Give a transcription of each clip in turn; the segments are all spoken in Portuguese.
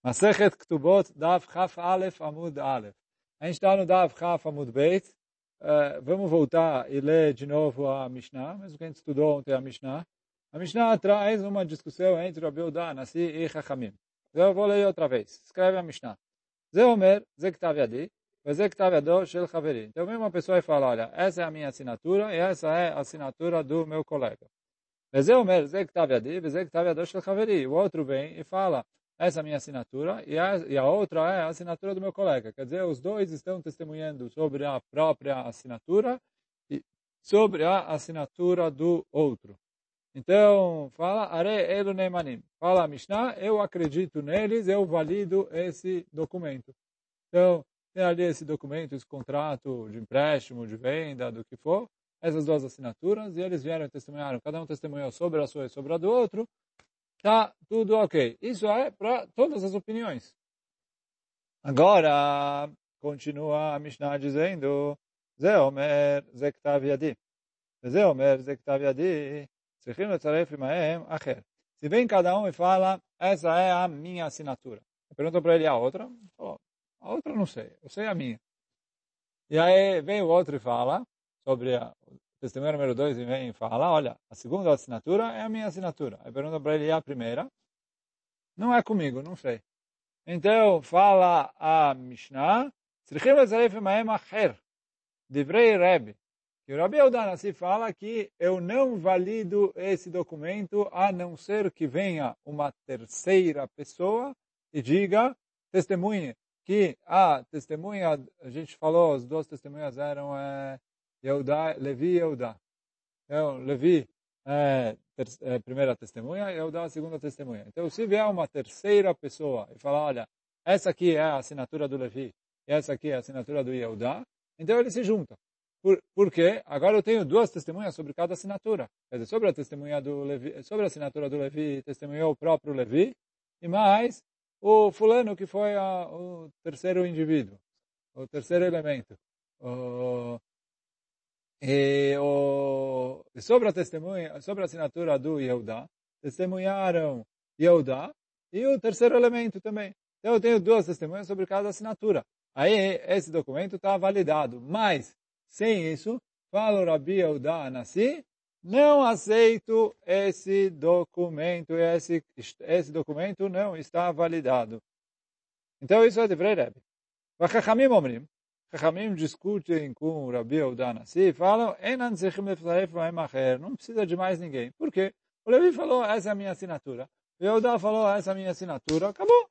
Masechet Ketubot, Daf Chaf Alef Amud Alef. A gente está no Daf Chaf Amud Beit. Vamos voltar e ler de novo a Mishnah, mesmo que a gente estudou ontem a Mishnah. A Mishnah traz uma discussão entre Rabi Yehuda, Nasi e Chachamim. Eu vou ler outra vez. Escreve a Mishnah. Ze Omer, Ze Ktav Yadi, Ze Ktav Yado Shel Chaveri. Então vem uma pessoa e fala, olha, essa é a minha assinatura e essa é a assinatura do meu colega. Ze Omer, Ze Ktav Yadi, Ze Ktav Yado Shel Chaveri. O outro vem e fala, essa é a minha assinatura e a outra é a assinatura do meu colega. Quer dizer, os dois estão testemunhando sobre a própria assinatura e sobre a assinatura do outro. Então, fala, Are Elu Neimanim. Fala a Mishnah, eu acredito neles, eu valido esse documento. Então, tem ali esse documento, esse contrato de empréstimo, de venda, do que for, essas duas assinaturas, e eles vieram e testemunharam, cada um testemunhou sobre a sua e sobre a do outro, tá tudo ok. Isso é para todas as opiniões. Agora, continua a Mishnah dizendo, Ze Omer, Ze Ktav Yadi. Ze Omer, Ze Ktav Yadi. Se vem cada um e fala, essa é a minha assinatura. Pergunta para ele a outra. Oh, a outra não sei, eu sei a minha. E aí vem o outro e fala, sobre o testemunho número 2, e vem e fala, olha, a segunda assinatura é a minha assinatura. Aí pergunta para ele a primeira. Não é comigo, não sei. Então, fala a Mishnah, Divrei Rebbe. E o Rabi Yehuda Nasi fala que eu não valido esse documento a não ser que venha uma terceira pessoa e diga, testemunhe, que a testemunha, a gente falou, as duas testemunhas eram Levi e Yehuda. Então, Levi é a primeira testemunha e Yehuda a segunda testemunha. Então, se vier uma terceira pessoa e falar, olha, essa aqui é a assinatura do Levi e essa aqui é a assinatura do Yehuda, então eles se juntam. Porque agora eu tenho duas testemunhas sobre cada assinatura. Quer dizer, sobre a testemunha do Levi, sobre a assinatura do Levi, testemunhou o próprio Levi, e mais o fulano que foi o terceiro indivíduo, o terceiro elemento. E sobre a testemunha, sobre a assinatura do Yehuda, testemunharam Yehuda e o terceiro elemento também. Então eu tenho duas testemunhas sobre cada assinatura. Aí esse documento está validado, mas sem isso, fala o Rabi Yehuda Nasi, não aceito esse documento, esse documento não está validado. Então isso é de Rebbe. Chachamim omrim, Chachamim discutem com o Rabi Yehuda Nasi e falam, não precisa de mais ninguém. Por quê? O Levi falou, essa é a minha assinatura. O Yehuda falou, essa é a minha assinatura, acabou.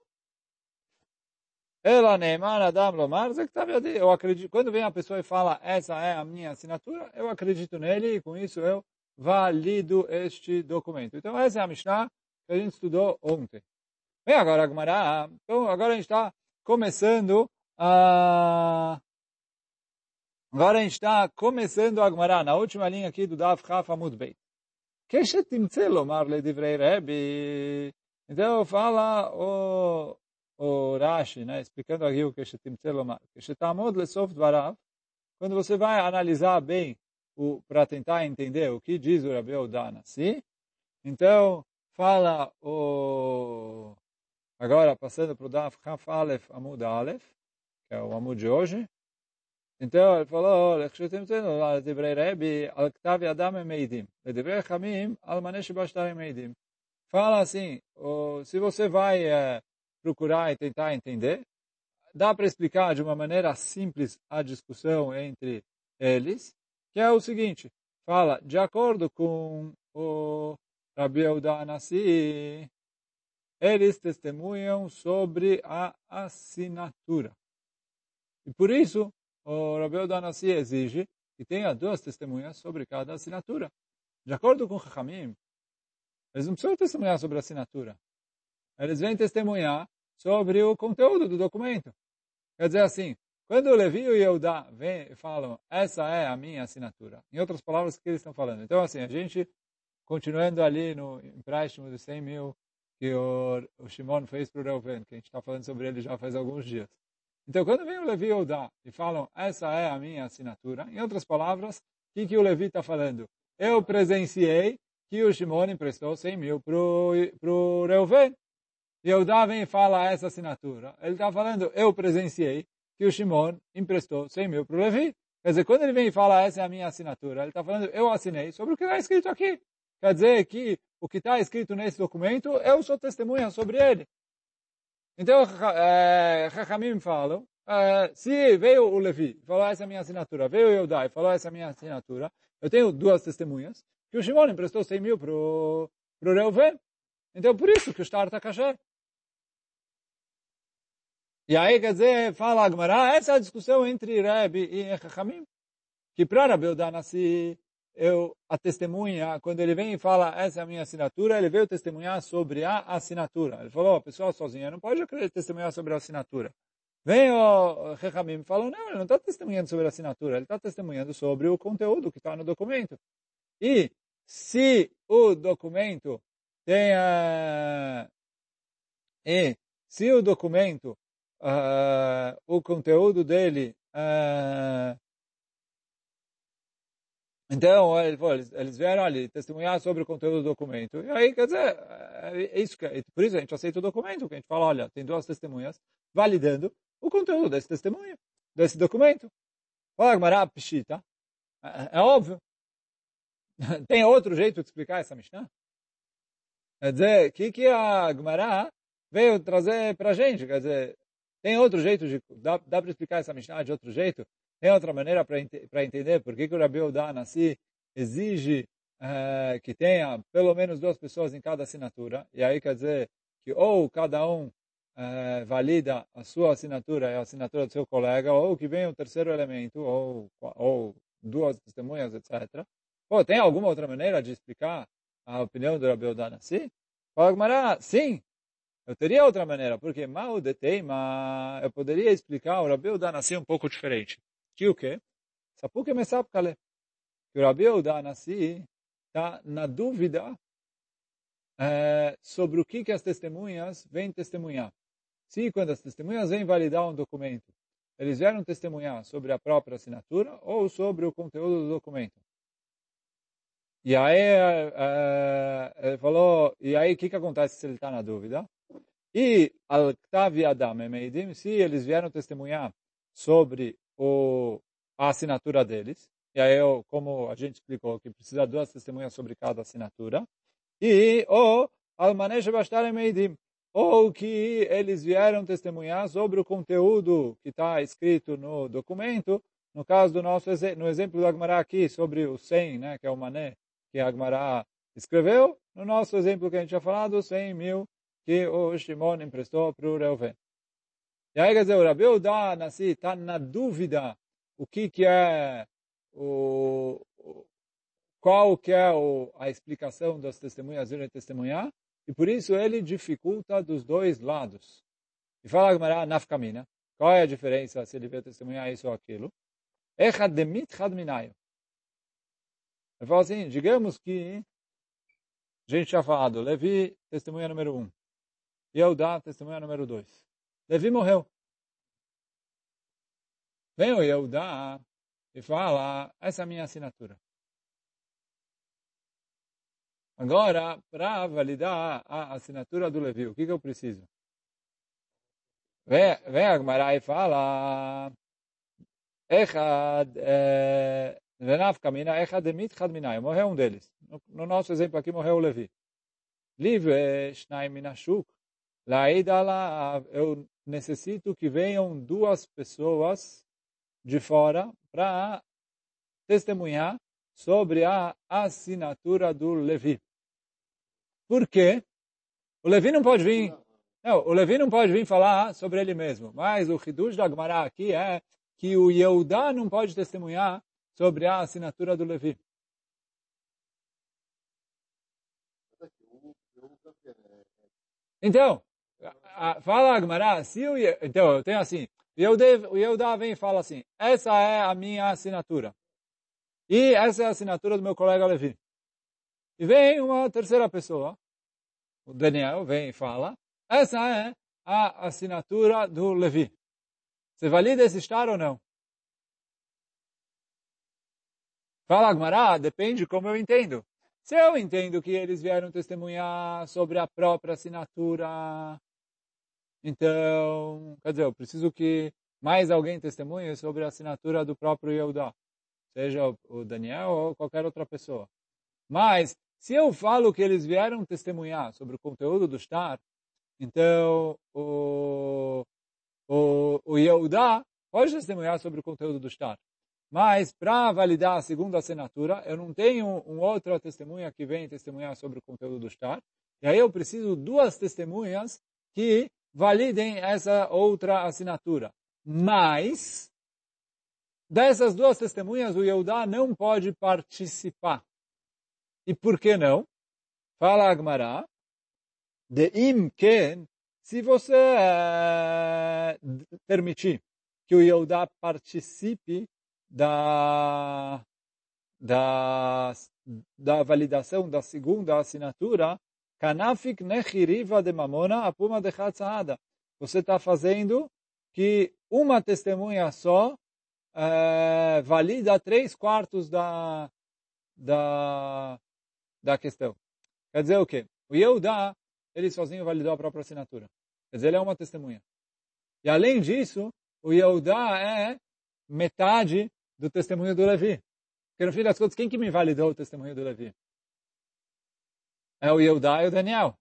Ela Neiman Adam Lomar, eu acredito. Quando vem a pessoa e fala, essa é a minha assinatura, eu acredito nele e com isso eu valido este documento. Então essa é a Mishnah que a gente estudou ontem. Vem agora a Gemara. Então agora a gente está começando a... Agora a gente está começando a Gemara, na última linha aqui do Daf Chaf Amud Beit. Keshetimtze Lomar Ledivrei Rebbe. Então fala o Rashi, né, explicando aqui o que quando você vai analisar bem para tentar entender o que diz o Rabi Yehuda Nasi, então fala agora passando para o Daf Chaf Alef Amud Alef, que é o Amud de hoje. Então ele falou, fala assim, se você vai procurar e tentar entender, dá para explicar de uma maneira simples a discussão entre eles, que é o seguinte, fala, de acordo com o Rabi Yehuda Nasi, eles testemunham sobre a assinatura. E por isso, o Rabi Yehuda Nasi exige que tenha duas testemunhas sobre cada assinatura. De acordo com o Chachamim, eles não precisam testemunhar sobre a assinatura. Eles vêm testemunhar sobre o conteúdo do documento. Quer dizer assim, quando o Levi e o Yehuda vêm e falam, essa é a minha assinatura. Em outras palavras, o que eles estão falando? Então, assim, a gente, continuando ali no empréstimo de 100 mil que o Shimon fez para o Reuven, que a gente está falando sobre ele já faz alguns dias. Então, quando vem o Levi e o Yehuda e falam, essa é a minha assinatura, em outras palavras, o que o Levi está falando? Eu presenciei que o Shimon emprestou 100 mil para o Reuven. Yehudá vem e fala essa assinatura. Ele está falando, eu presenciei que o Shimon emprestou 100 mil para o Levi. Quer dizer, quando ele vem e fala, essa é a minha assinatura, ele está falando, eu assinei sobre o que está escrito aqui. Quer dizer que o que está escrito nesse documento, eu sou testemunha sobre ele. Então, Chachamim falam, se veio o Levi, falou essa é a minha assinatura, veio o Yehudá e falou essa é a minha assinatura, eu tenho duas testemunhas, que o Shimon emprestou 100 mil para o Reuven. Então, por isso que o Shtar está kasher. E aí, quer dizer, fala a Gemara, essa é a discussão entre Rebbe e Chachamim, que para Rabi Udanassi, a testemunha, quando ele vem e fala, essa é a minha assinatura, ele veio testemunhar sobre a assinatura. Ele falou, a pessoa sozinha não pode testemunhar sobre a assinatura. Vem o Chachamim e fala, não, ele não está testemunhando sobre a assinatura, ele está testemunhando sobre o conteúdo que está no documento. E se o documento tem... e se o documento o conteúdo dele. Então, eles vieram ali testemunhar sobre o conteúdo do documento. E aí, quer dizer, por isso a gente aceita o documento, que a gente fala, olha, tem duas testemunhas validando o conteúdo desse testemunho, desse documento. Fala, Gemara, pshita. É óbvio. Tem outro jeito de explicar essa Mishnah? Quer dizer, o que a Gemara veio trazer para a gente? Quer dizer, tem outro jeito dá para explicar essa Mishnah de outro jeito? Tem outra maneira para entender por que o Rabi Yehuda Nassi exige que tenha pelo menos duas pessoas em cada assinatura? E aí quer dizer que ou cada um valida a sua assinatura e a assinatura do seu colega, ou que venha um terceiro elemento, ou duas testemunhas, etc. Pô, tem alguma outra maneira de explicar a opinião do Rabi Yehuda Nassi? Fala, Gemara, sim. Eu teria outra maneira, porque mal de teima, eu poderia explicar o Rabi Yehuda Nassi um pouco diferente. Que o quê? Sapuke me sapkale. Que o Rabi Yehuda Nassi está na dúvida sobre o que as testemunhas vêm testemunhar. Se quando as testemunhas vêm validar um documento, eles vieram testemunhar sobre a própria assinatura ou sobre o conteúdo do documento. E aí ele falou, e aí o que acontece se ele está na dúvida? E al-Ktavi Adam Emeidim, se eles vieram testemunhar sobre a assinatura deles, e aí como a gente explicou, que precisa de duas testemunhas sobre cada assinatura, e o al-Manesh Bashtar Emeidim, ou que eles vieram testemunhar sobre o conteúdo que está escrito no documento, no caso do no exemplo do Agmará aqui, sobre o 100, né, que é o mané que a Agmará escreveu, no nosso exemplo que a gente já falado, 100 mil que o Shimon emprestou para o Reuven. E aí, quer dizer, o Rabi Yehuda Nassi está na dúvida o que é qual que é a explicação das testemunhas irem testemunhar, e por isso ele dificulta dos dois lados. E fala Gemara nafkamina, qual é a diferença se ele veio testemunhar isso ou aquilo? Echad demit chad minayo. Ele fala assim, digamos que a gente já falado, Levi, testemunha número 1. Yehudá, testemunha número 2. Levi morreu. Vem o Yehudá e fala, essa é a minha assinatura. Agora, para validar a assinatura do Levi, o que eu preciso? Vem a Gemara e fala, Echad, Venafkamina, Echad demit chad minai. Morreu um deles. No nosso exemplo aqui, morreu o Levi. Live, Shnaim minashuk. Eu necessito que venham duas pessoas de fora para testemunhar sobre a assinatura do Levi. Por quê? O Levi não pode vir. Não, o Levi não pode vir falar sobre ele mesmo. Mas o Hidush da Gemara aqui é que o Yehudá não pode testemunhar sobre a assinatura do Levi. Então, fala a Gemara, então eu tenho assim, o Yehudá vem e fala assim, essa é a minha assinatura. E essa é a assinatura do meu colega Levi. E vem uma terceira pessoa, o Daniel, vem e fala, essa é a assinatura do Levi. Você valida esse estar ou não? Fala, Agmará, depende como eu entendo. Se eu entendo que eles vieram testemunhar sobre a própria assinatura, Então, quer dizer, eu preciso que mais alguém testemunhe sobre a assinatura do próprio Yehudá, seja o Daniel ou qualquer outra pessoa. Mas, se eu falo que eles vieram testemunhar sobre o conteúdo do shtar, então o Yehudá pode testemunhar sobre o conteúdo do shtar. Mas, para validar a segunda assinatura, eu não tenho uma outra testemunha que vem testemunhar sobre o conteúdo do shtar. E aí eu preciso duas testemunhas que validem essa outra assinatura. Mas, dessas duas testemunhas, o Yehudá não pode participar. E por que não? Fala Agmará, de imken, se você permitir que o Yehudá participe da, da, da validação da segunda assinatura, kanafik nechiriva de mamona apuma de chatzahada. Você está fazendo que uma testemunha só valida 3/4 da questão. Quer dizer o quê? O Yehudá, ele sozinho validou a própria assinatura. Quer dizer, ele é uma testemunha. E além disso, o Yehudá é metade do testemunho do Levi. Porque no fim das contas, quem que me validou o testemunho do Levi? É o Yehudá e o Daniel.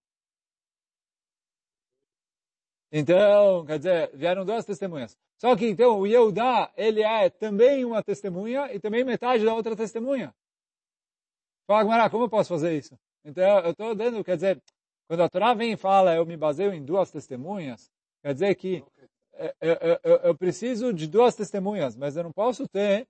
Então, quer dizer, vieram duas testemunhas. Só que então o Yehudá, ele é também uma testemunha e também metade da outra testemunha. Fala, Gmará, como eu posso fazer isso? Então, eu estou dando, quer dizer, quando a Torá vem e fala, eu me baseio em duas testemunhas, quer dizer que eu preciso de duas testemunhas, mas eu não posso ter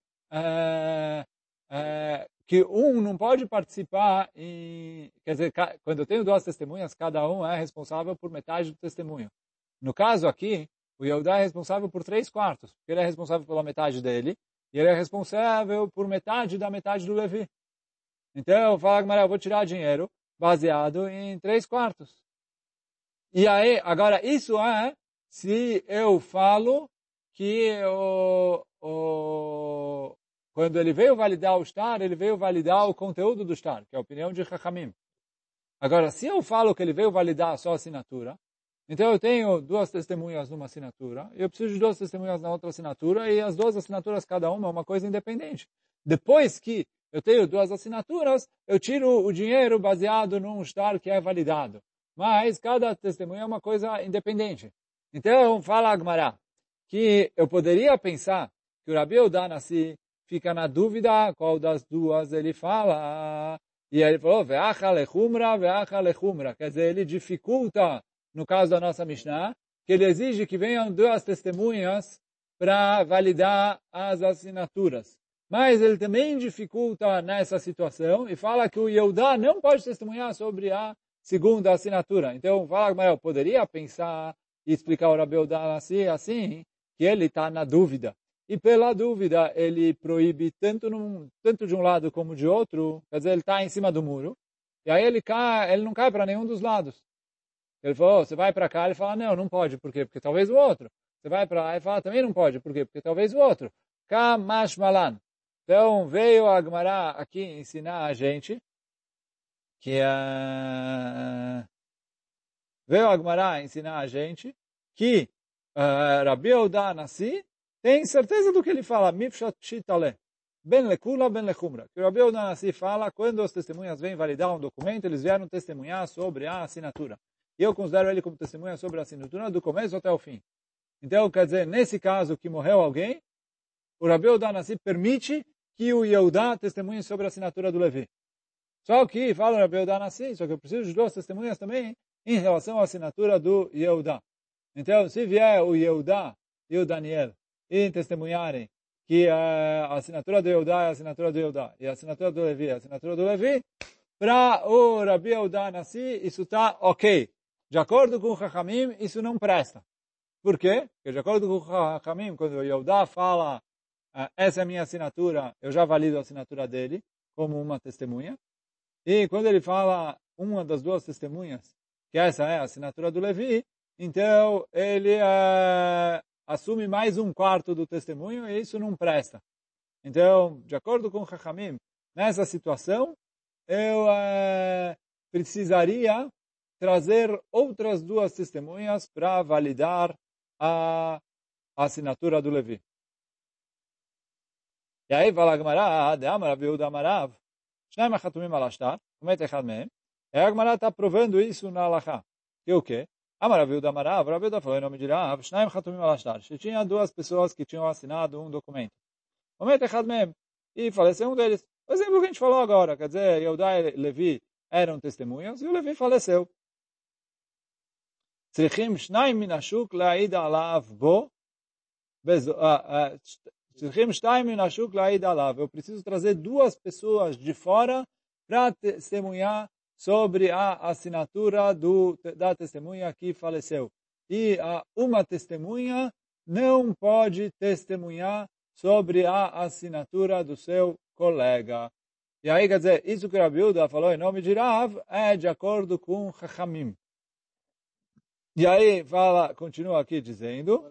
que um não pode participar quer dizer, quando eu tenho duas testemunhas, cada um é responsável por metade do testemunho. No caso aqui, o Yehudá é responsável por 3/4, porque ele é responsável pela metade dele, e ele é responsável por metade da metade do Levi. Então, fala, Gmará, eu vou tirar dinheiro baseado em 3/4. E aí, agora, isso é se eu falo que quando ele veio validar o shtar, ele veio validar o conteúdo do shtar, que é a opinião de Chachamim. Agora, se eu falo que ele veio validar só a assinatura, então eu tenho duas testemunhas numa assinatura, e eu preciso de duas testemunhas na outra assinatura, e as duas assinaturas, cada uma, é uma coisa independente. Depois que eu tenho duas assinaturas, eu tiro o dinheiro baseado num shtar que é validado. Mas cada testemunha é uma coisa independente. Então, fala Agmará, que eu poderia pensar que o Rabi Yehuda Nassi fica na dúvida qual das duas ele fala. E ele falou, ve'acha lechumra, ve'acha lechumra. Quer dizer, ele dificulta, no caso da nossa Mishnah, que ele exige que venham duas testemunhas para validar as assinaturas. Mas ele também dificulta nessa situação e fala que o Yehudá não pode testemunhar sobre a segunda assinatura. Então, fala, mas eu poderia pensar e explicar o Rabi Yehuda assim, que ele está na dúvida. E pela dúvida, ele proíbe tanto de um lado como de outro, quer dizer, ele está em cima do muro, e aí ele não cai para nenhum dos lados. Ele falou, você vai para cá, ele fala, não pode, por quê? Porque talvez o outro. Você vai para lá e fala, também não pode, por quê? Porque talvez o outro. Kamash malan. Então, veio a Agmará aqui ensinar a gente que veio a Agmará ensinar a gente que Rabi Yehuda Nassi tem certeza do que ele fala, Mifshat Pshitale, ben lekula, ben lechumra. Que o Rabi Yehuda Nassi fala, quando as testemunhas vêm validar um documento, eles vieram testemunhar sobre a assinatura. E eu considero ele como testemunha sobre a assinatura do começo até o fim. Então, quer dizer, nesse caso que morreu alguém, o Rabi Yehuda Nassi permite que o Yehudá testemunhe sobre a assinatura do Levi. Só que, fala o Rabi Yehuda Nassi, só que eu preciso de duas testemunhas também em relação à assinatura do Yehudá. Então, se vier o Yehudá e o Daniel e testemunharem que a assinatura do Yehudá é a assinatura do Yehudá e a assinatura do Levi é a assinatura do Levi, para o Rabi Yehuda Nassi, isso está ok. De acordo com o Chachamim, isso não presta. Por quê? Porque de acordo com o Chachamim, quando o Yehudá fala essa é a minha assinatura, eu já valido a assinatura dele como uma testemunha. E quando ele fala uma das duas testemunhas, que essa é a assinatura do Levi, então ele assume mais 1/4 do testemunho e isso não presta. Então, de acordo com o Chachamim, nessa situação, eu precisaria trazer outras duas testemunhas para validar a assinatura do Levi. E aí fala a Gemara, de Amarav Yehuda Amarav, Shnaim HaChatumim al Ashtar, Umet Echad Mehem. E a Gemara está provando isso na Halachá. Que o quê? Amarav Yehuda Amarav, Rav Yehuda falou em nome de Rav, Shnaim HaChatumim al Ashtar. Tinha duas pessoas que tinham assinado um documento. Umet Echad Mehem. E faleceu um deles. O exemplo que a gente falou agora, quer dizer, Yehuda e Levi eram testemunhas e o Levi faleceu. Tzrichim Shnaim min hashuk la'id alav bo. Eu preciso trazer duas pessoas de fora para testemunhar sobre a assinatura da testemunha que faleceu. E uma testemunha não pode testemunhar sobre a assinatura do seu colega. E aí, quer dizer, isso que o Rabi Yehuda falou em nome de Rav é de acordo com Chachamim. E aí, continua aqui dizendo...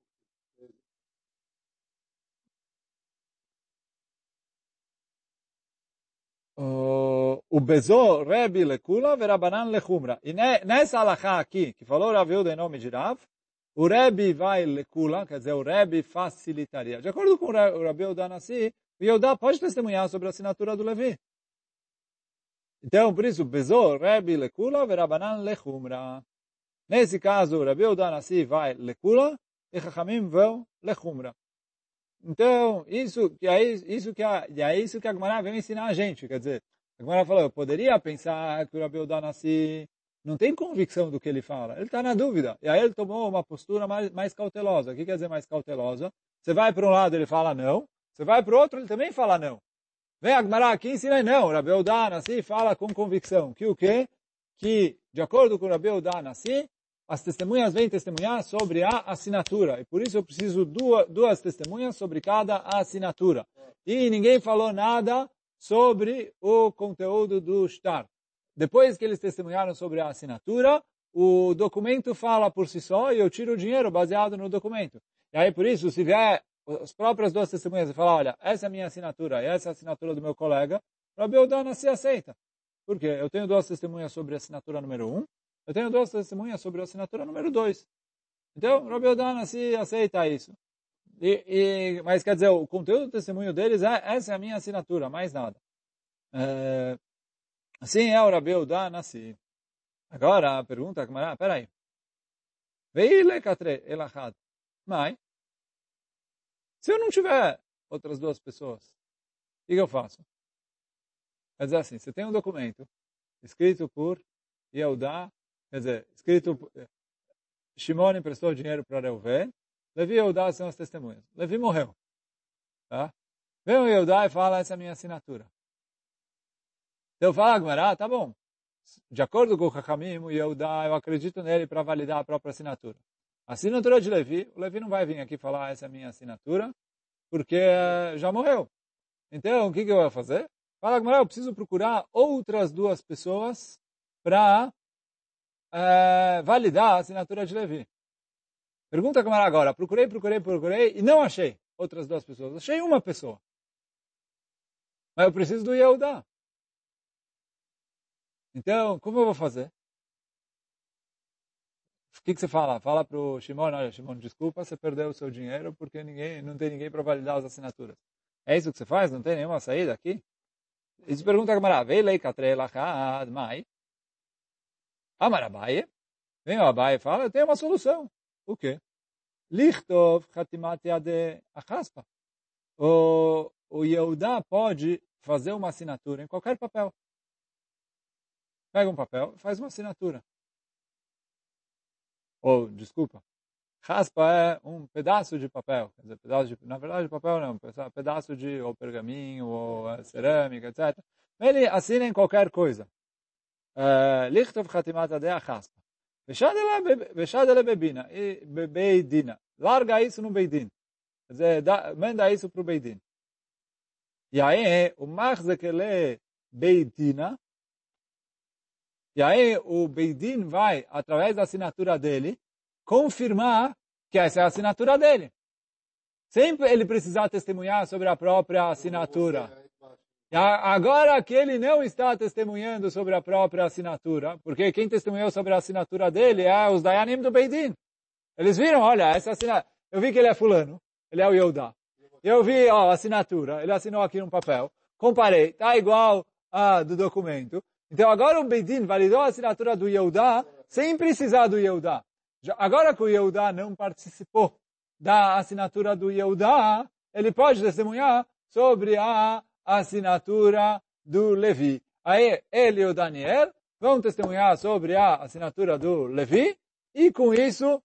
O Bezô, Rebi Lekula, Verabanan Lechumra. E nessa alahá aqui, que falou Rav Yehuda em nome de Rav, o Rebi vai Lekula, quer dizer, o Rebi facilitaria. De acordo com o Rabi Yehuda Nassi, o Yehuda pode testemunhar sobre a assinatura do Levi. Então, por isso, Bezô, Rebi Lekula, Verabanan Lechumra. Nesse caso, o Rabi Yehuda Nassi vai Lekula, e Chachamim vão Lechumra. Então, isso que a Gemara veio ensinar a gente. Quer dizer, a Gemara falou, eu poderia pensar que o Rabi Yehuda Nassi não tem convicção do que ele fala. Ele está na dúvida. E aí ele tomou uma postura mais cautelosa. O que quer dizer mais cautelosa? Você vai para um lado, ele fala não. Você vai para o outro, ele também fala não. Vem a Gemara aqui e ensina não. O Rabi Yehuda Nassi fala com convicção. Que o quê? Que, de acordo com o Rabi Yehuda Nassi, as testemunhas vêm testemunhar sobre a assinatura. E por isso eu preciso duas testemunhas sobre cada assinatura. E ninguém falou nada sobre o conteúdo do shtar. Depois que eles testemunharam sobre a assinatura, o documento fala por si só e eu tiro o dinheiro baseado no documento. E aí por isso, se vier as próprias duas testemunhas e falar, olha, essa é a minha assinatura e essa é a assinatura do meu colega, o Rabi Yehuda Nassi aceita. Por quê? Eu tenho duas testemunhas sobre a assinatura número 1, eu tenho duas testemunhas sobre a assinatura número 2. Então, o Rabi Yehuda Nassi aceita isso. Mas quer dizer, o conteúdo do testemunho deles essa é a minha assinatura, mais nada. Assim é o Rabi Yehuda Nassi. Agora, a pergunta, peraí. Veile katre elachad. Mas, se eu não tiver outras duas pessoas, o que eu faço? Quer dizer assim, você tem um documento escrito por Yehuda. Quer dizer, escrito, Shimon emprestou dinheiro para Reuven, Levi e Yehuda são as testemunhas. Levi morreu. Tá? Vem o Yehuda e fala, essa é a minha assinatura. Então fala, Gemara, tá bom. De acordo com o Chachamim, o Yehuda, eu acredito nele para validar a própria assinatura. A assinatura de Levi, o Levi não vai vir aqui falar, essa é a minha assinatura, porque já morreu. Então, o que eu vou fazer? Fala, Gemara, eu preciso procurar outras duas pessoas para validar a assinatura de Levi. Pergunta como era agora. Procurei e não achei outras duas pessoas. Achei uma pessoa. Mas eu preciso do Yehuda. Então, como eu vou fazer? O que você fala? Fala para o Shimon, olha, Shimon, desculpa, você perdeu o seu dinheiro porque não tem ninguém para validar as assinaturas. É isso que você faz? Não tem nenhuma saída aqui? Isso pergunta a Gemara. Veilei katrei lachad mai. Amar Abaye, vem o Abaye e fala, eu tenho uma solução. O quê? Lichtov chatimat yadeh achaspa. O Yehuda pode fazer uma assinatura em qualquer papel. Pega um papel e faz uma assinatura. Ou, desculpa, raspa é um pedaço de papel. Quer dizer, na verdade, papel não, pedaço de ou pergaminho, ou cerâmica, etc. Ele assina em qualquer coisa. Lichtov chatimat yadeh achaspa. Veshadele bebina, beidina. Larga isso no beidin. Quer dizer, manda isso para o beidin. E aí, o machzekele beidina. E aí, o beidin vai, através da assinatura dele, confirmar que essa é a assinatura dele. Sem ele precisar testemunhar sobre a própria assinatura. Agora que ele não está testemunhando sobre a própria assinatura, porque quem testemunhou sobre a assinatura dele é os Dayanim do Beidin. Eles viram, olha, essa assinatura, eu vi que ele é fulano, ele é o Yehudá. Eu vi, ó, a assinatura, ele assinou aqui num papel, comparei, tá igual a do documento. Então agora o Beidin validou a assinatura do Yehudá sem precisar do Yehudá. Agora que o Yehudá não participou da assinatura do Yehudá, ele pode testemunhar sobre a assinatura do Levi. Aí ele e o Daniel vão testemunhar sobre a assinatura do Levi e com isso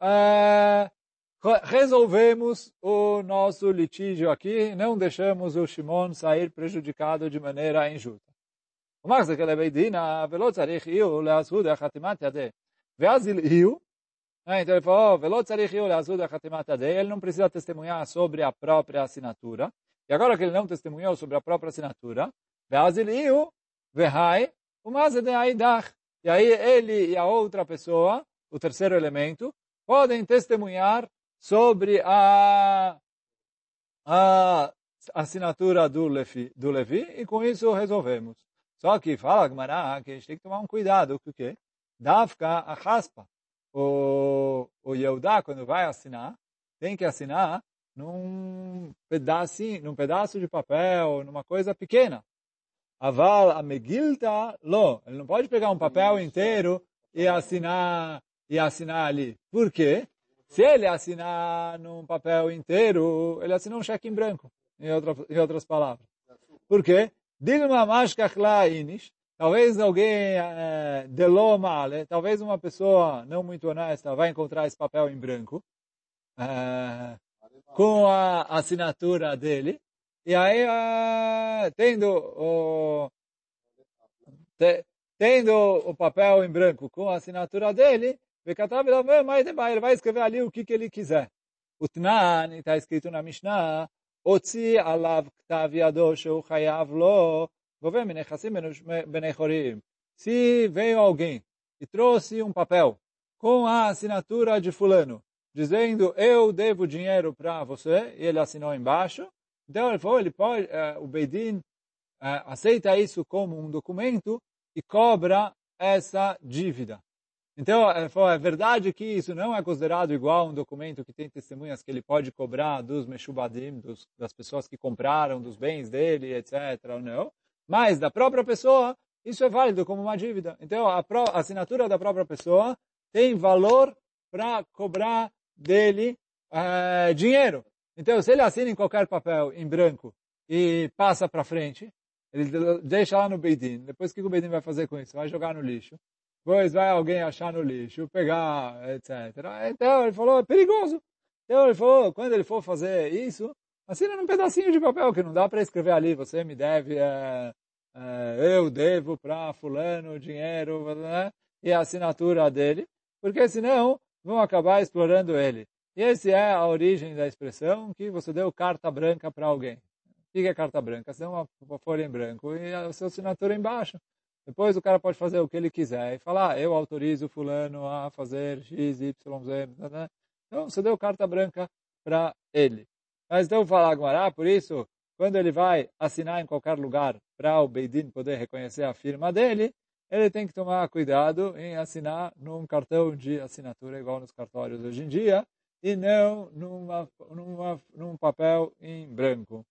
resolvemos o nosso litígio aqui, não deixamos o Shimon sair prejudicado de maneira injusta. O Max daquela beidina, velot tzarich iu leazud achatimat yadeh. Veazil iu, então ele falou, velot tzarich iu leazud achatimat yadeh, ele não precisa testemunhar sobre a própria assinatura. E agora que ele não testemunhou sobre a própria assinatura, veazil iu, vehai, o mazed aidach. E aí ele e a outra pessoa, o terceiro elemento, podem testemunhar sobre a assinatura do Levi, e com isso resolvemos. Só que fala Gemara que a gente tem que tomar um cuidado, porque Dafka a raspa. O Yehudá, quando vai assinar, tem que assinar num pedaço de papel, numa coisa pequena. Aval a Megilta, lo. Ele não pode pegar um papel inteiro e assinar ali. Por quê? Se ele assinar num papel inteiro, ele assinou um cheque em branco, em outras palavras. Por quê? Dilma mashkachla inish. Talvez alguém delou male, talvez uma pessoa não muito honesta vai encontrar esse papel em branco com a assinatura dele. E aí, tendo o papel em branco com a assinatura dele, ele vai escrever ali o que ele quiser. O Tnan, está escrito na Mishnah, Otzi alav ktav yado sheu chayav lo, govem menechassim benechorim. Se veio alguém e trouxe um papel com a assinatura de fulano, dizendo, eu devo dinheiro para você, e ele assinou embaixo, então o Beidin aceita isso como um documento e cobra essa dívida. Então, é verdade que isso não é considerado igual a um documento que tem testemunhas que ele pode cobrar dos meshubadim, das pessoas que compraram, dos bens dele, etc. ou não. Mas, da própria pessoa, isso é válido como uma dívida. Então, a assinatura da própria pessoa tem valor para cobrar dele dinheiro. Então, se ele assina em qualquer papel em branco e passa para frente, ele deixa lá no Beidin. Depois, o que o Beidin vai fazer com isso? Vai jogar no lixo. Depois vai alguém achar no lixo, pegar, etc. Então ele falou, é perigoso. Então ele falou, quando ele for fazer isso, assina num pedacinho de papel, que não dá para escrever ali, você me deve, eu devo para fulano dinheiro, né? E a assinatura dele, porque senão vão acabar explorando ele. E essa é a origem da expressão que você deu carta branca para alguém. O que é carta branca? Você deu uma folha em branco e a sua assinatura embaixo. Depois o cara pode fazer o que ele quiser e falar, eu autorizo fulano a fazer X, Y, Z. Né? Então, você deu carta branca para ele. Mas então, falar Gumará, por isso, quando ele vai assinar em qualquer lugar para o Beidin poder reconhecer a firma dele, ele tem que tomar cuidado em assinar num cartão de assinatura igual nos cartórios hoje em dia e não num papel em branco.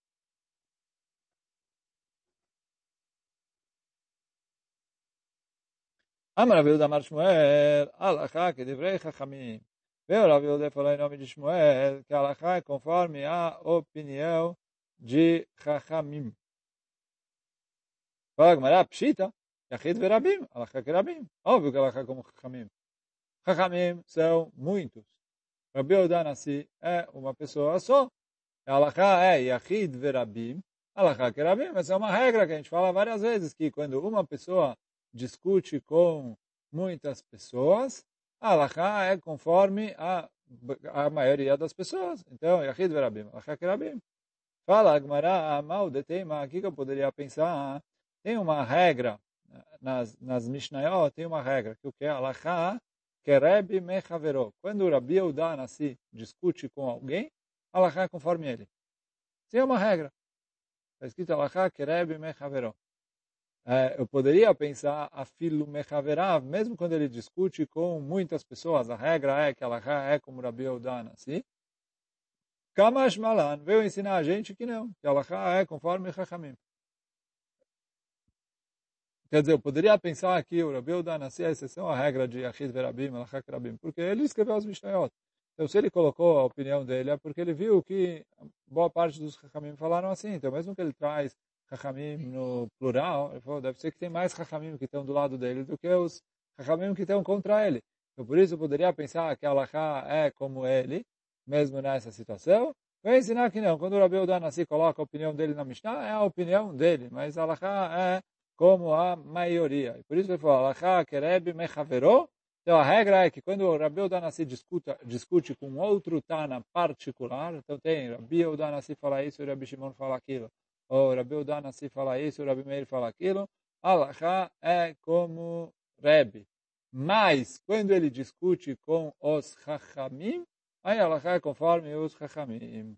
Amar Rav Yehuda Amar Shmuel, Alachá que devrei Chachamim. Veio Rav Yehuda falou em nome de Shmuel, que Alachá é conforme a opinião de Chachamim. Fala Gemara, Pshita, Yachid verabim, Alachá que rabim. Óbvio que Alachá como Chachamim. Chachamim são muitos. Rav Yehuda Nassi é uma pessoa só. Alachá é Yachid verabim, Alachá que rabim. Essa é uma regra que a gente fala várias vezes, que quando uma pessoa discute com muitas pessoas, a halakha é conforme a maioria das pessoas. Então, Yachid verabim, halakha kerabim. Fala, Agmará, mal de tema, aqui que eu poderia pensar, tem uma regra, nas Mishnayot tem uma regra, que o que é halakha kereb mechaveró. Quando o Rabi Yehuda Nassi discute com alguém, halakha é conforme ele. Isso é uma regra. Está escrito alachá kereb mechaveró. Eu poderia pensar afilu mechaverav, mesmo quando ele discute com muitas pessoas, a regra é que alachá é como Rabi Yehuda Anassi. Kamash Malan veio ensinar a gente que não, que alachá é conforme Chachamim. Quer dizer, eu poderia pensar que o Rabi Yehuda Anassi é a exceção à regra de Achid Verabim, Alachá Kerabim, porque ele escreveu os Mishnayot. Então, se ele colocou a opinião dele, é porque ele viu que boa parte dos Chachamim falaram assim. Então, mesmo que ele traz Chachamim no plural, ele falou, deve ser que tem mais Chachamim que estão do lado dele do que os Chachamim que estão contra ele. Então, por isso, eu poderia pensar que Alachá é como ele, mesmo nessa situação. Vai ensinar que não. Quando o Rabi Yehuda Anassi coloca a opinião dele na Mishnah, é a opinião dele, mas Alachá é como a maioria. E por isso ele falou, alachá kereb mechaveró. Então a regra é que quando o Rabi Yehuda Anassi discute com outro Tana particular, então tem Rabi Yehuda Anassi fala isso e Rabi Shimon fala aquilo, ou Rabi Yehuda Anassi fala isso e Rabi Meir fala aquilo, alachá é como Rebbe. Mas quando ele discute com os Chachamim, aí alachá é conforme os Chachamim.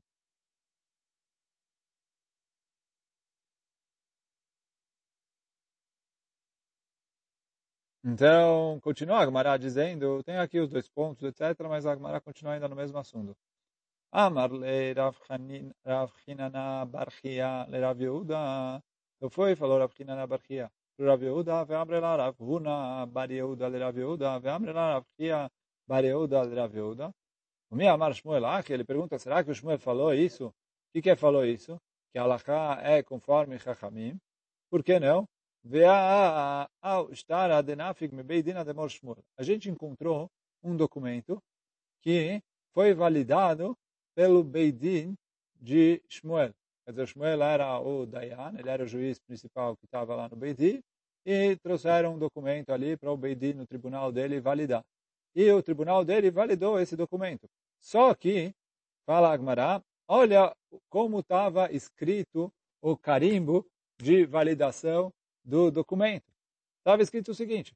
Então, continua a Gemara dizendo, tem aqui os dois pontos, etc., mas a Gemara continua ainda no mesmo assunto. Amar le Rav Chinana bar Chia le Rav Yehuda. Então foi e falou Rav Chinana bar Chia para Rav Yehuda, ve'amre la Rav Huna bar Yehuda le Rav Yehuda, ve'amre la Rav Chia bar Yehuda le Rav Yehuda. O meu Amar Shmuel Achi, ele pergunta, será que o Shmuel falou isso? O que falou isso? Que a Halachá é conforme Chachamim. Por que não? A gente encontrou um documento que foi validado pelo Beidin de Shmuel. Quer dizer, Shmuel era o Dayan, ele era o juiz principal que estava lá no Beidin, e trouxeram um documento ali para o Beidin, no tribunal dele, validar. E o tribunal dele validou esse documento. Só que, fala Agmará, olha como estava escrito o carimbo de validação do documento. Estava escrito o seguinte,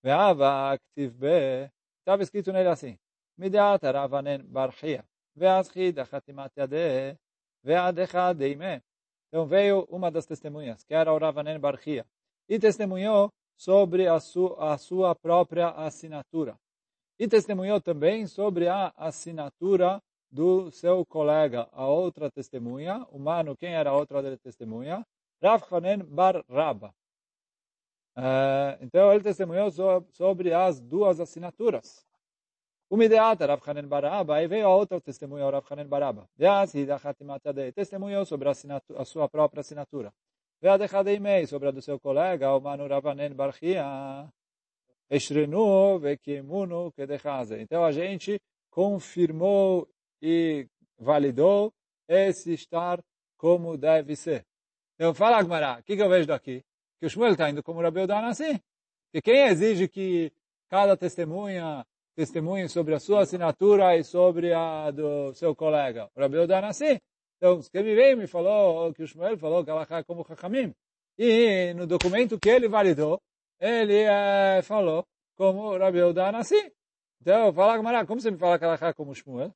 estava escrito nele assim, Midat Ravanen Barchia, Ve'azchid Achatimat Yadeh, Ve'adecha Deimeh. Então veio uma das testemunhas, que era o Ravanen Barchia, e testemunhou sobre a sua própria assinatura. E testemunhou também sobre a assinatura do seu colega, a outra testemunha, o mano, quem era a outra testemunha? Rav Hanen bar Rabba. Então ele testemunhou sobre as duas assinaturas. O Mideata, Rav Hanen bar Rabba, aí veio a outra testemunha, o Rav Hanen bar Rabba. Testemunhou sobre a sua própria assinatura. Ve'adechadei sobre a do seu colega, o mano Rav Hanen bar Chia. Então a gente confirmou e validou esse estar como deve ser. Então fala Agmará, o que eu vejo daqui? Que o Shmuel está indo como Rabi Yehuda Anassi. Que quem exige que cada testemunhe sobre a sua assinatura e sobre a do seu colega? O Rabi Yehuda Anassi. Então, quem me veio me falou que o Shmuel falou que ela é como Chachamim. E no documento que ele validou, ele falou como Rabi Yehuda Anassi. Então, fala Agmará, como você me fala que ela é como Shmuel?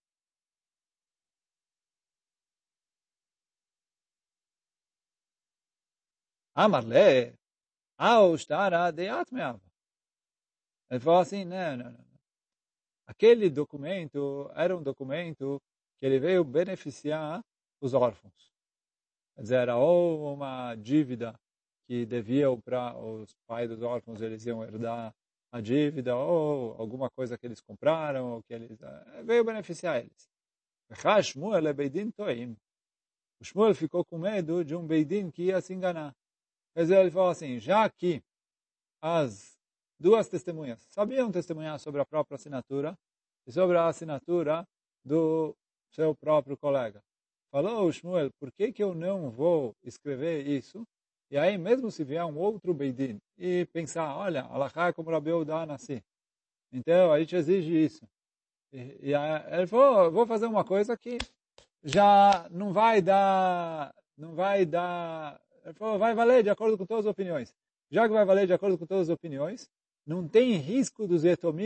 Amarle, ao estar a deat meava. Ele falou assim, não. Aquele documento era um documento que ele veio beneficiar os órfãos. Quer dizer, era ou uma dívida que deviam para os pais dos órfãos, eles iam herdar a dívida, ou alguma coisa que eles compraram, ou que eles veio beneficiar eles. O Shmuel ficou com medo de um Beidin que ia se enganar. Quer dizer, ele falou assim, já que as duas testemunhas sabiam testemunhar sobre a própria assinatura e sobre a assinatura do seu próprio colega. Falou o Shmuel, por que eu não vou escrever isso? E aí, mesmo se vier um outro Beidin e pensar, olha, Alachá é como Rabi Yehuda Anassi. Então, a gente exige isso. E aí, ele falou, vou fazer uma coisa que já não vai dar, ele falou, vai valer de acordo com todas as opiniões. Já que vai valer de acordo com todas as opiniões, não tem risco dos Yetomim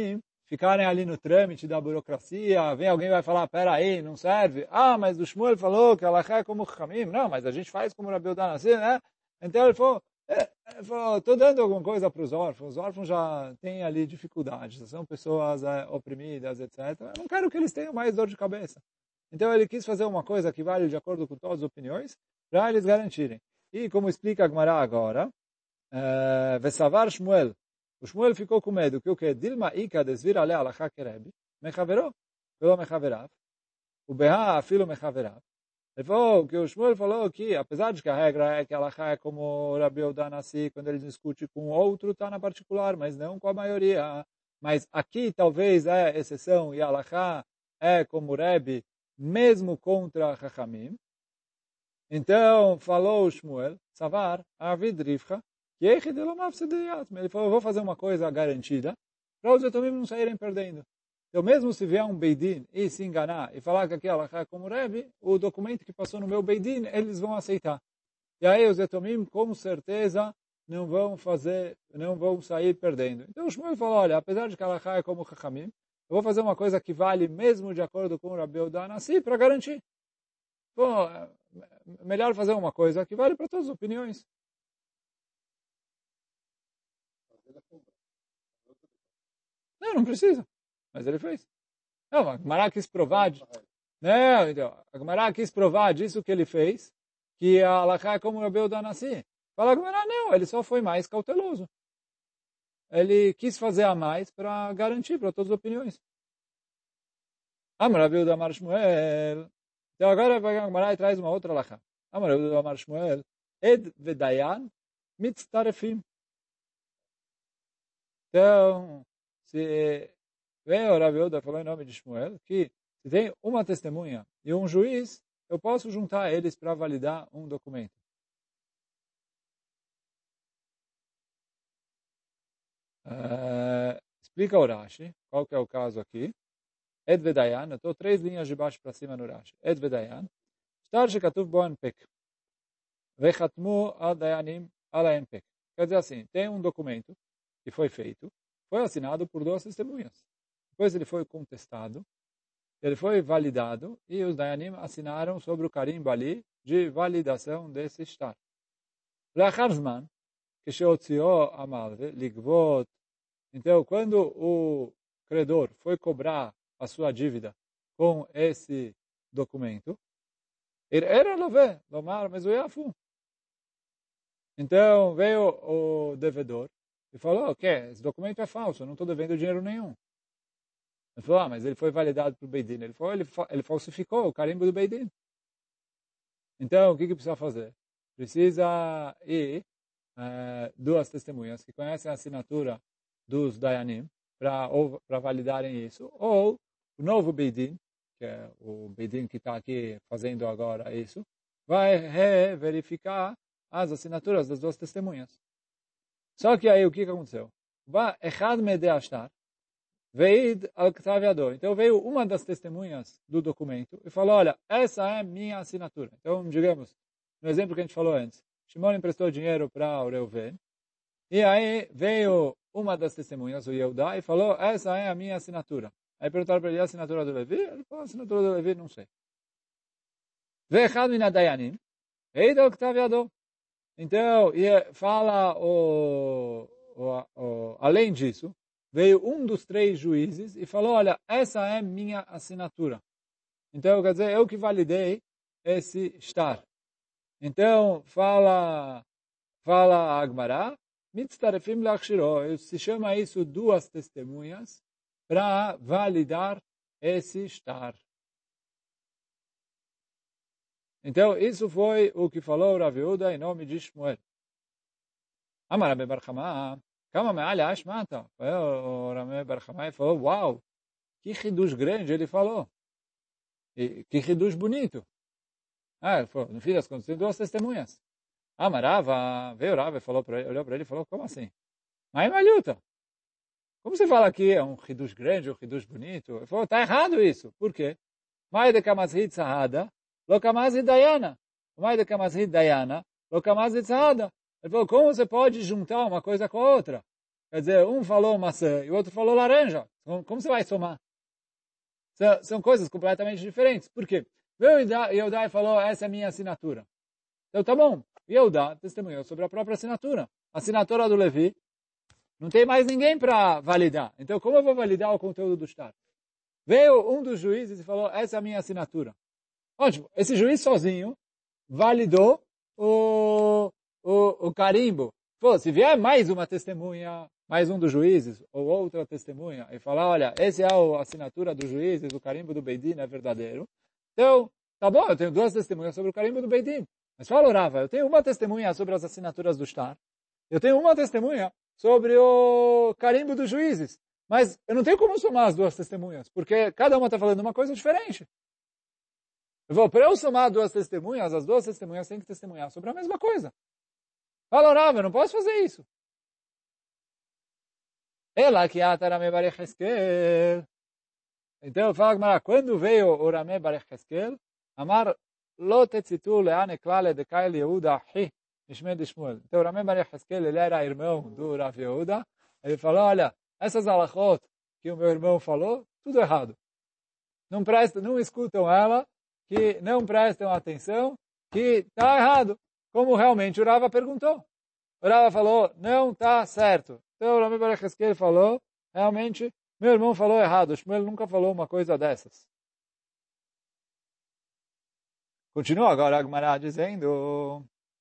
ficarem ali no trâmite da burocracia, vem alguém e vai falar, peraí, não serve. Ah, mas o Shmuel falou que ela é como o Chamim. Não, mas a gente faz como o Rabi Udan assim, né? Então ele falou, estou dando alguma coisa para os órfãos. Os órfãos já têm ali dificuldades, são pessoas oprimidas, etc. Eu não quero que eles tenham mais dor de cabeça. Então ele quis fazer uma coisa que vale de acordo com todas as opiniões, para eles garantirem. E como explica a Gemara agora, Vesavar Shmuel, o Shmuel ficou com medo que o que? Dilma Ika desvira ale alachá kerebi, mechaveró, pelo mechaverav, o beha afilo mechaverav. Ele falou que o Shmuel falou que, apesar de que a regra é que a alachá é como o Rabi Udan Nassi, quando ele discute com outro, está na particular, mas não com a maioria. Mas aqui talvez é exceção, e a alachá é como o Rebbe, mesmo contra Chachamim. Então, falou o Shmuel, Savar, Avid Rivcha, ele falou, eu vou fazer uma coisa garantida, para os etomim não saírem perdendo. Então, mesmo se vier um Beidin e se enganar e falar que aquela é como Rebbe, o documento que passou no meu Beidin, eles vão aceitar. E aí os etomim, com certeza, não vão sair perdendo. Então, o Shmuel falou, olha, apesar de que ela é como Chachamim, eu vou fazer uma coisa que vale mesmo de acordo com o Rabi Udan Nassi para garantir. Bom, melhor fazer uma coisa que vale para todas as opiniões. Não precisa. Mas ele fez. Não, a Gemara quis provar. Não, então, a Gemara quis provar disso que ele fez, que a Alachá é como o Rabi Udan Nassi. Fala a Gemara, não, ele só foi mais cauteloso. Ele quis fazer a mais para garantir para todas as opiniões. Amar Rabi Udan Amar Shmuel. Então agora vai a Gemara e traz uma outra Alachá. Amar Rabi Udan Amar Shmuel. Ed vedayan mitztarefim. Então, se vem o Rabi Udan falou em nome de Shmuel, que se tem uma testemunha e um juiz, eu posso juntar eles para validar um documento. Explica o Rashi, qual que é o caso aqui. Ed vedayan, eu estou 3 linhas de baixo para cima no Rashi. Ed vedayan, shtar shekatuv bo anpek, vechatmu al dayanim ala anpek. Quer dizer assim, tem um documento que foi feito, foi assinado por 2 testemunhas. Depois ele foi contestado, ele foi validado e os dayanim assinaram sobre o carimbo ali de validação desse shtar. Lachar zman, כשהוציאו המלווה לגבות. Então, quando o credor foi cobrar a sua dívida com esse documento, era lové, lomar mezuyafu. Então, veio o devedor e falou, esse documento é falso, eu não estou devendo dinheiro nenhum. Ele falou, mas ele foi validado pelo Beidin. Ele falou, ele falsificou o carimbo do Beidin. Então, o que precisa fazer? Precisa ir 2 testemunhas que conhecem a assinatura dos Dayanim para validarem isso, ou o novo Beidin, que é o Beidin que está aqui fazendo agora isso, vai verificar as assinaturas das 2 testemunhas. Só que aí o que aconteceu? Echad mede ashtar, veid al ktaviador. Então veio uma das testemunhas do documento e falou, olha, essa é minha assinatura. Então, digamos, no exemplo que a gente falou antes, Shimon emprestou dinheiro para o Reuven, e aí veio uma das testemunhas, o Yehudá, e falou, essa é a minha assinatura. Aí perguntaram para ele, a assinatura do Levi? Ele falou, a assinatura do Levi, não sei. Ve'echad min hadayanim, eid al ktaviador. Então, fala além disso, veio um dos 3 juízes e falou, olha, essa é minha assinatura. Então, quer dizer, eu que validei esse shtar. Então, fala a Agmará, mitztarefim lachshiro, se chama isso 2 testemunhas para validar esse shtar. Então, isso foi o que falou Rav Yehuda em nome de Shmuel. Amar Rabi Bar Chama, kama me'al ashmata. O Rabi Bar Chama falou, uau, que hidush grande ele falou. E que hidush bonito. Ele falou, no fim das contas, tem 2 testemunhas. Amarava, veio o Rav, olhou para ele e falou, como assim? Mas malhuta. Como você fala aqui, é um hidush grande, um hidush bonito? Ele falou, está errado isso. Por quê? Mai de kamazhid sahada, lo kamazhid dayana. Mai de kamazhid dayana, lo kamazhid sahada. Ele falou, como você pode juntar uma coisa com a outra? Quer dizer, um falou maçã e o outro falou laranja. Como você vai somar? São coisas completamente diferentes. Por quê? Yehudá falou, essa é a minha assinatura. Então tá bom. Yehudá testemunhou sobre a própria assinatura. A assinatura do Levi, não tem mais ninguém para validar. Então como eu vou validar o conteúdo do shtar? Veio um dos juízes e falou, essa é a minha assinatura. Ótimo. Esse juiz sozinho validou o carimbo. Pô, se vier mais uma testemunha, mais um dos juízes, ou outra testemunha, e falar, olha, essa é a assinatura dos juízes, o carimbo do Beidin é verdadeiro. Então, tá bom, eu tenho duas testemunhas sobre o carimbo do Beidin. Mas fala, Rava, eu tenho uma testemunha sobre as assinaturas do shtar. Eu tenho uma testemunha sobre o carimbo dos juízes. Mas eu não tenho como somar as duas testemunhas, porque cada uma está falando uma coisa diferente. Para eu somar duas testemunhas, as duas testemunhas têm que testemunhar sobre a mesma coisa. Fala, Rava, eu não posso fazer isso. Ela que Rame Bar Yecheskel. Então, fala, quando veio o Rame Bar Yecheskel, Amar, lo tetzitu leane klale de Kail Yehuda ahi, Ishme de Shmuel. Então, o Rame Bar Yecheskel, ele era irmão do Rav Yehuda. Ele falou, olha, essas halachot que o meu irmão falou, tudo errado. Não prestam, não escutam ela, que não prestam atenção, que está errado. Como realmente o Rava perguntou. O Rava falou, não está certo. Então o Rami Bar Yecheskel falou, realmente, meu irmão falou errado. O Shmuel nunca falou uma coisa dessas. Continua agora a Gemara dizendo,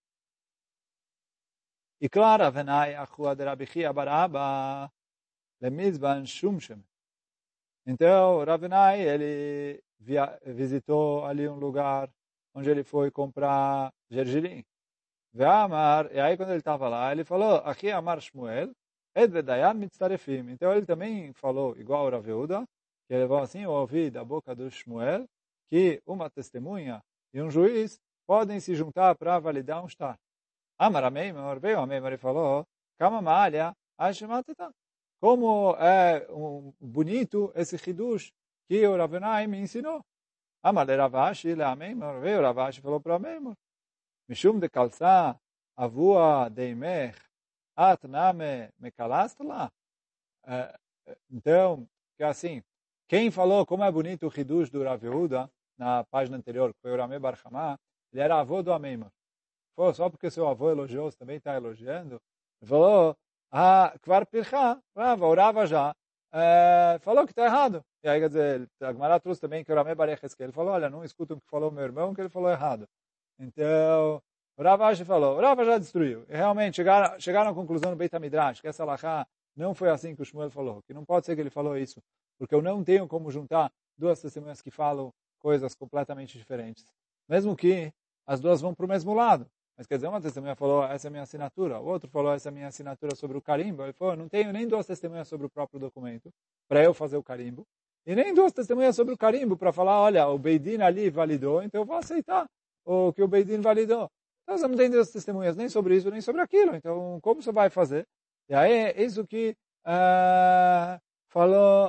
e clara venai achua de Rabi Chia bar Abba lemizban shumshem. Então, Ravenai, ele visitou ali um lugar onde ele foi comprar gergelim. E aí quando ele estava lá, ele falou, aqui Amar Shmuel, Ed Vedayan Mitztarefim. Então ele também falou, igual o Rav Yehuda, que ele falou assim, eu ouvi da boca do Shmuel, que uma testemunha e um juiz podem se juntar para validar um shtar. Amar Ameimor, veio Ameimor e falou, Kama Ma'alia, Ashemateta. Como é bonito esse hidush que o Ravenai me ensinou. Amar Ravashi, Ameimor, veio Ravashi e falou para Ameimor, Mishum de calça, avua deimech, at name mekalast lá. Então, que assim, quem falou como é bonito o hidush do Rav Yehuda, na página anterior, que foi o Rame Bar Chamá, ele era avô do Ameimor. Só porque seu avô elogiou, você também está elogiando. Ele falou, Kvar Pircha, o Rava já falou que está errado. E aí, quer dizer, a Gemara trouxe também que o Rame Bar Yecheskel, ele falou, olha, não escutam o que falou meu irmão, que ele falou errado. Então, o Ravashi falou, o Rava já destruiu. E realmente chegaram à conclusão no Beit HaMidrash, que essa alahá não foi assim que o Shmuel falou, que não pode ser que ele falou isso, porque eu não tenho como juntar duas testemunhas que falam coisas completamente diferentes. Mesmo que as duas vão para o mesmo lado. Mas quer dizer, uma testemunha falou, essa é a minha assinatura, o outro falou, essa é a minha assinatura sobre o carimbo. Ele falou, não tenho nem duas testemunhas sobre o próprio documento para eu fazer o carimbo, e nem duas testemunhas sobre o carimbo para falar, olha, o Beidin ali validou, então eu vou aceitar o que o Beidin validou. Então você não tem duas testemunhas nem sobre isso, nem sobre aquilo. Então, como você vai fazer? E aí, é isso que falou,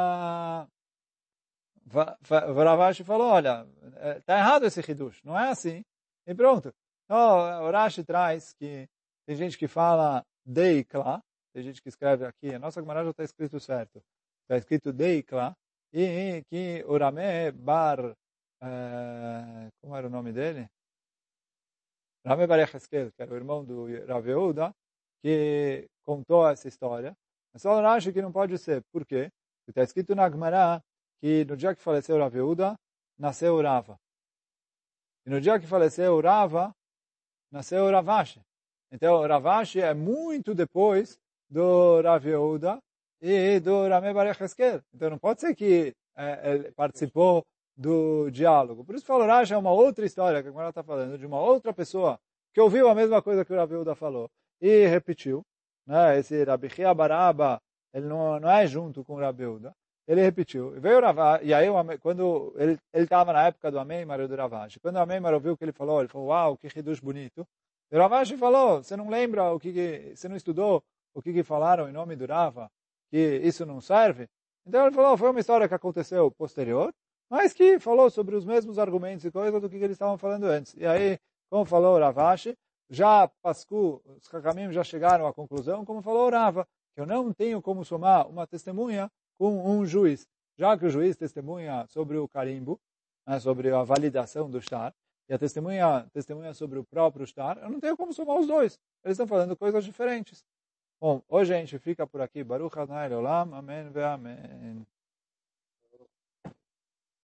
Ravashi falou, olha, está errado esse hidush, não é assim. E pronto. Então, o Rashi traz que tem gente que fala deikla, tem gente que escreve aqui, a nossa Gemara já está escrito certo, está escrito deikla, e que o Rame Bar, como era o nome dele? Rame Bar Yecheskel, que era o irmão do Rav Yehuda, que contou essa história. Mas só o Rashi que não pode ser. Por quê? Porque está escrito na Gemara que no dia que faleceu o Rav Yehuda, nasceu o Rava. E no dia que faleceu o Rava, nasceu o Ravashi. Então, o Ravashi é muito depois do Rav Yehuda e do Rame Bar Yecheskel. Então, não pode ser que ele participou do diálogo. Por isso, falo, Rashi é uma outra história que a Gemara está falando, de uma outra pessoa que ouviu a mesma coisa que o Rav Yehuda falou e repetiu. Né? Esse Rabi Chia bar Abba, ele não é junto com o Rav Yehuda. Ele repetiu. E veio o Ravashi, e aí, quando ele estava na época do Ameimar e do Ravashi, quando o Ameimar ouviu o que ele falou, uau, que hidush bonito. E o Ravashi falou, você não lembra você não estudou o que falaram em nome do Rava, que isso não serve? Então ele falou, foi uma história que aconteceu posterior, mas que falou sobre os mesmos argumentos e coisas do que eles estavam falando antes. E aí, como falou o Ravashi, já Pascu, os Hakamim já chegaram à conclusão, como falou o Rava, que eu não tenho como somar uma testemunha com um juiz. Já que o juiz testemunha sobre o carimbo, né, sobre a validação do shtar, e a testemunha sobre o próprio shtar, eu não tenho como somar os dois. Eles estão falando coisas diferentes. Bom, hoje a gente fica por aqui. Baruch Adonai Leolam. Amém ve amém.